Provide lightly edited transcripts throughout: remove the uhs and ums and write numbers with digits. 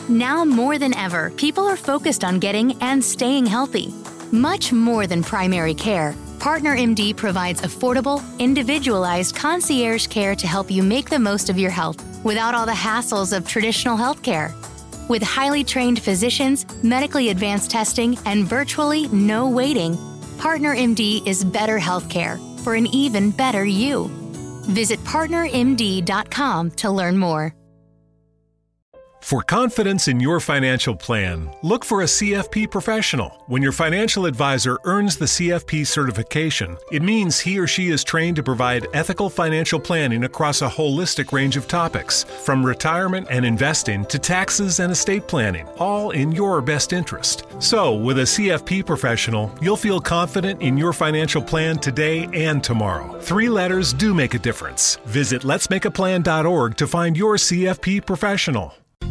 Now more than ever, people are focused on getting and staying healthy. Much more than primary care, PartnerMD provides affordable, individualized concierge care to help you make the most of your health without all the hassles of traditional healthcare. With highly trained physicians, medically advanced testing, and virtually no waiting, PartnerMD is better healthcare for an even better you. Visit PartnerMD.com to learn more. For confidence in your financial plan, look for a CFP professional. When your financial advisor earns the CFP certification, it means he or she is trained to provide ethical financial planning across a holistic range of topics, from retirement and investing to taxes and estate planning, all in your best interest. So, with a CFP professional, you'll feel confident in your financial plan today and tomorrow. 3 letters do make a difference. Visit letsmakeaplan.org to find your CFP professional.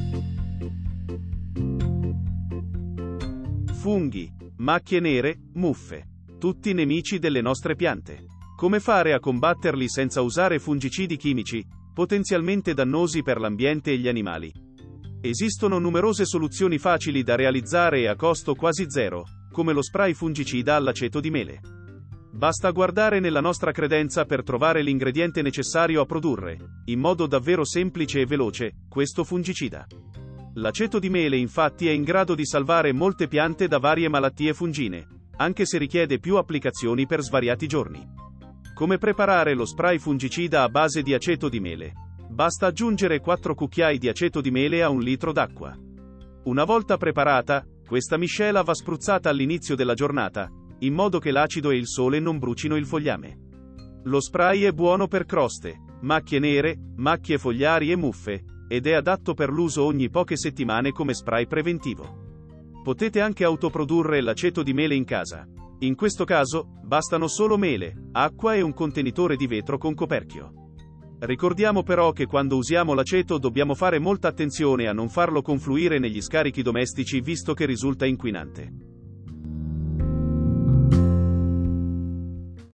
Funghi, macchie nere, muffe. Tutti nemici delle nostre piante. Come fare a combatterli senza usare fungicidi chimici, potenzialmente dannosi per l'ambiente e gli animali? Esistono numerose soluzioni facili da realizzare e a costo quasi zero, come lo spray fungicida all'aceto di mele. Basta guardare nella nostra credenza per trovare l'ingrediente necessario a produrre, in modo davvero semplice e veloce, questo fungicida. L'aceto di mele infatti è in grado di salvare molte piante da varie malattie fungine, anche se richiede più applicazioni per svariati giorni. Come preparare lo spray fungicida a base di aceto di mele? Basta aggiungere 4 cucchiai di aceto di mele a 1 litro d'acqua. Una volta preparata, questa miscela va spruzzata all'inizio della giornata, in modo che l'acido e il sole non brucino il fogliame. Lo spray è buono per croste, macchie nere, macchie fogliari e muffe, ed è adatto per l'uso ogni poche settimane come spray preventivo. Potete anche autoprodurre l'aceto di mele in casa. In questo caso, bastano solo mele, acqua e un contenitore di vetro con coperchio. Ricordiamo però che quando usiamo l'aceto dobbiamo fare molta attenzione a non farlo confluire negli scarichi domestici visto che risulta inquinante.